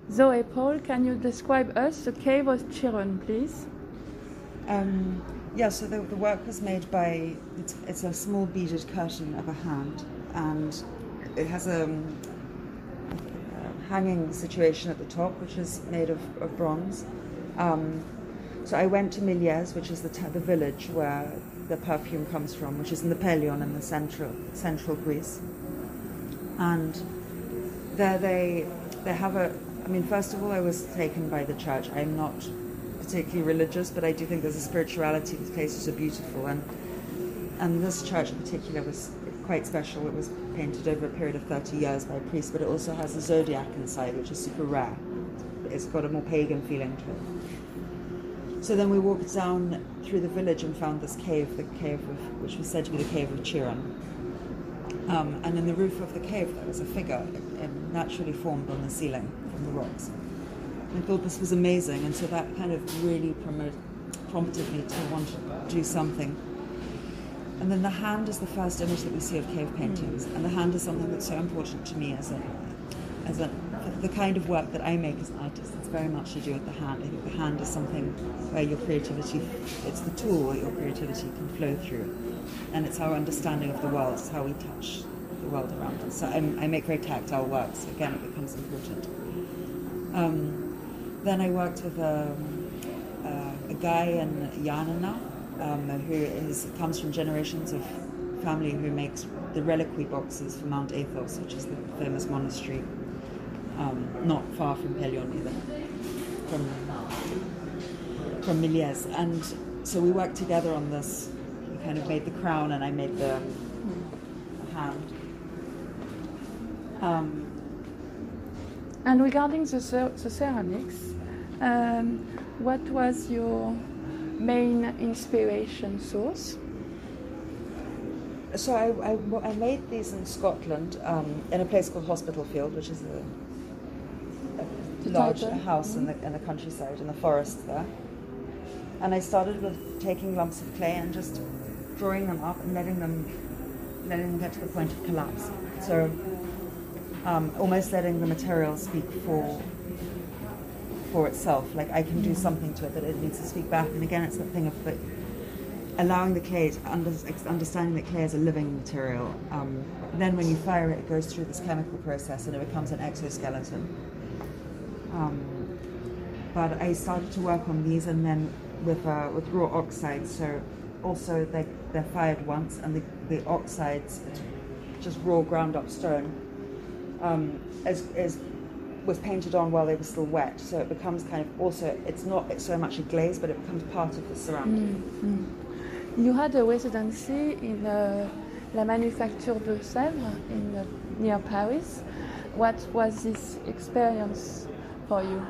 Zoe Paul, can you describe us the cave of Chiron, please? Yeah, so the work was made by, it's a small beaded curtain of a hand, and it has a hanging situation at the top, which is made of bronze. So I went to Miliez, which is the village where the perfume comes from, which is in the Pelion in the central Greece. And there they have first of all, I was taken by the church. I'm not particularly religious, but I do think there's a spirituality. These places are beautiful, and this church in particular was quite special. It was painted over a period of 30 years by a priest, but it also has a zodiac inside, which is super rare. It's got a more pagan feeling to it. So then we walked down through the village and found this cave, which was said to be the cave of Chiron. And in the roof of the cave there was a figure naturally formed on the ceiling from the rocks. I thought this was amazing, and so that kind of really prompted me to want to do something. And then the hand is the first image that we see of cave paintings, and the hand is something that's so important to me as the kind of work that I make as an artist. It's very much to do with the hand. I think the hand is something where your creativity, it's the tool that your creativity can flow through, and it's our understanding of the world. It's how we touch the world around us. So I make very tactile work, so again it becomes important. Then I worked with a guy in Yanina who comes from generations of family who makes the reliquary boxes for Mount Athos, which is the famous monastery not far from Pelion either, from Miliez. And so we worked together on this. We kind of made the crown and I made the hand. And regarding the ceramics, what was your main inspiration source? So I made these in Scotland in a place called Hospital Field, which is a large house in the countryside, in the forest there. And I started with taking lumps of clay and just drawing them up and letting them get to the point of collapse. So almost letting the material speak for itself. Like I can do something to it, but it needs to speak back. And again, it's that thing of allowing the clay to understanding that clay is a living material. Then when you fire it, it goes through this chemical process and it becomes an exoskeleton. But I started to work on these, and then with raw oxides. So also they're fired once, and the oxides, just raw ground up stone, was painted on while they were still wet. So it becomes kind of also, it's not so much a glaze, but it becomes part of the ceramic. You had a residency in La Manufacture de Sèvres near Paris. What was this experience for you?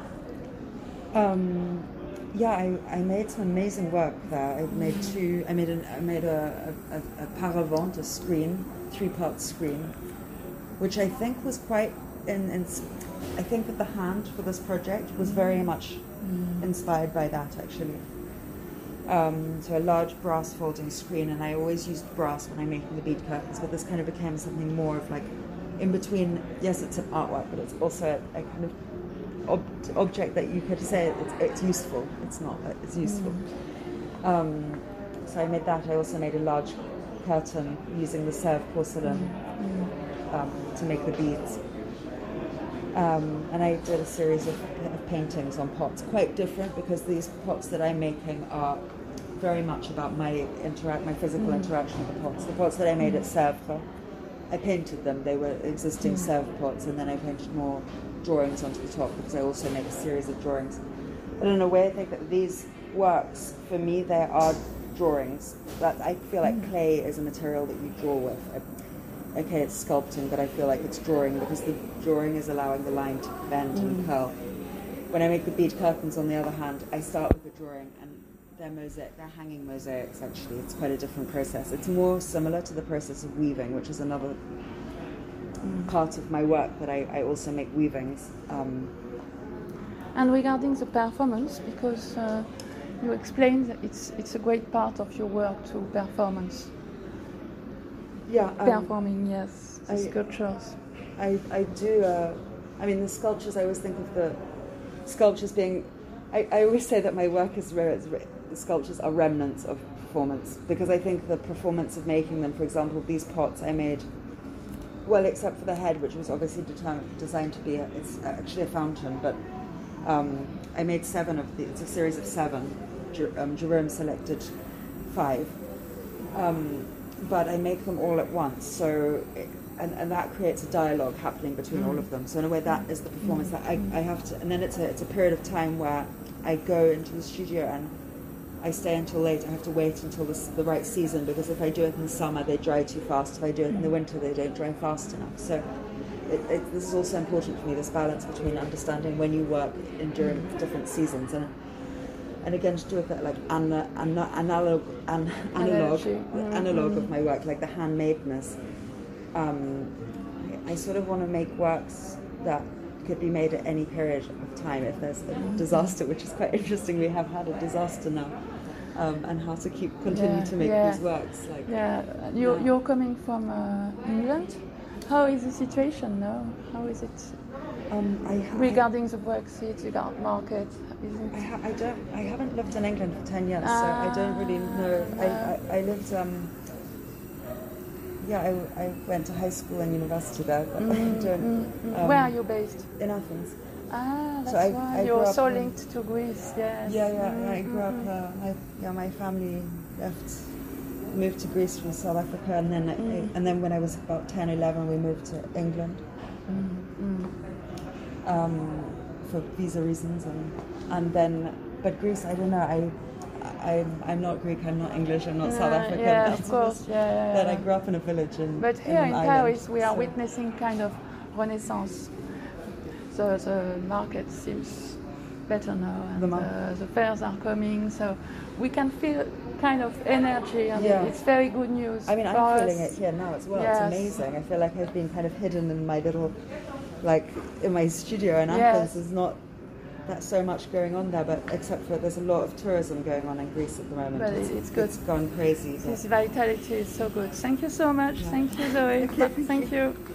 I made some amazing work there. I made a paravent, a screen, 3-part screen, which I think was quite I think that the hand for this project was very much inspired by that, actually. So a large brass folding screen, and I always used brass when I'm making the bead curtains, but this kind of became something more of like in between. Yes, it's an artwork, but it's also a kind of object that you could say it's useful. It's not, but it's useful. So I made that. I also made a large curtain using the Sèvres porcelain to make the beads. And I did a series of paintings on pots, quite different because these pots that I'm making are very much about my physical interaction with the pots. The pots that I made at Sèvres, I painted them. They were existing Sèvres pots, and then I painted more drawings onto the top because I also make a series of drawings. But in a way, I think that these works, for me, they are drawings. That I feel like clay is a material that you draw with. Okay, it's sculpting, but I feel like it's drawing because the drawing is allowing the line to bend and curl. When I make the bead curtains, on the other hand, I start with a drawing, and they're hanging mosaics, actually. It's quite a different process. It's more similar to the process of weaving, which is another part of my work, that I also make weavings. And regarding the performance, because you explained that it's a great part of your work to performance. Yeah, performing, yes, the sculptures. I do I mean, the sculptures, I always think of the sculptures being, I always say that my work is the sculptures are remnants of performance, because I think the performance of making them, for example, these pots I made, well, except for the head, which was obviously designed to be, it's actually a fountain, but I made 7 of these. It's a series of 7. Jerome selected 5. But I make them all at once, so and that creates a dialogue happening between all of them. So in a way, that is the performance that I have to. And then it's a period of time where I go into the studio and I stay until late. I have to wait until the right season, because if I do it in the summer, they dry too fast. If I do it in the winter, they don't dry fast enough. So this is also important for me, this balance between understanding when you work during different seasons, and again, to do with that, like analog of my work, like the handmadeness. I sort of want to make works that could be made at any period of time if there's a disaster, which is quite interesting. We have had a disaster now, and how to continue to make these works. Like, you're coming from England. How is the situation now? How is it regarding the Brexit, the market? I haven't lived in England for 10 years, so I don't really know. I lived. I went to high school and university there, but I don't. Where are you based? In Athens. That's so why you're so linked to Greece. Yes. I grew up. My family moved to Greece from South Africa, and then when I was about 10, 11, we moved to England for visa reasons, and then, but Greece, I don't know. I'm not Greek, I'm not English, I'm not South African. Yeah, of course. But I grew up in a village But here in Paris, we are witnessing kind of renaissance. So the market seems better now, and the fairs are coming, so we can feel kind of energy, and it's very good news. I mean, for I'm us. feeling it here now as well. Yes. It's amazing. I feel like I've been kind of hidden in my little, like in my studio in Athens. There's not that so much going on there, but except for there's a lot of tourism going on in Greece at the moment. But it's good. It's gone crazy. This vitality is so good. Thank you so much. Thank you, Zoe. Okay, Thank you.